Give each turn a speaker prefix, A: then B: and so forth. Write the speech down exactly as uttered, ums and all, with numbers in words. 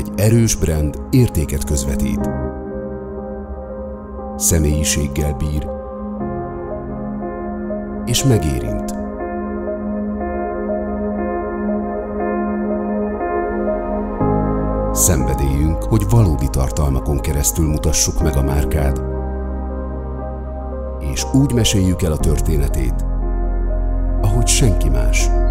A: Egy erős brand értéket közvetít. Személyiséggel bír, és megérint. Szenvedélyünk, hogy valódi tartalmakon keresztül mutassuk meg a márkád, és úgy meséljük el a történetét, ahogy senki más.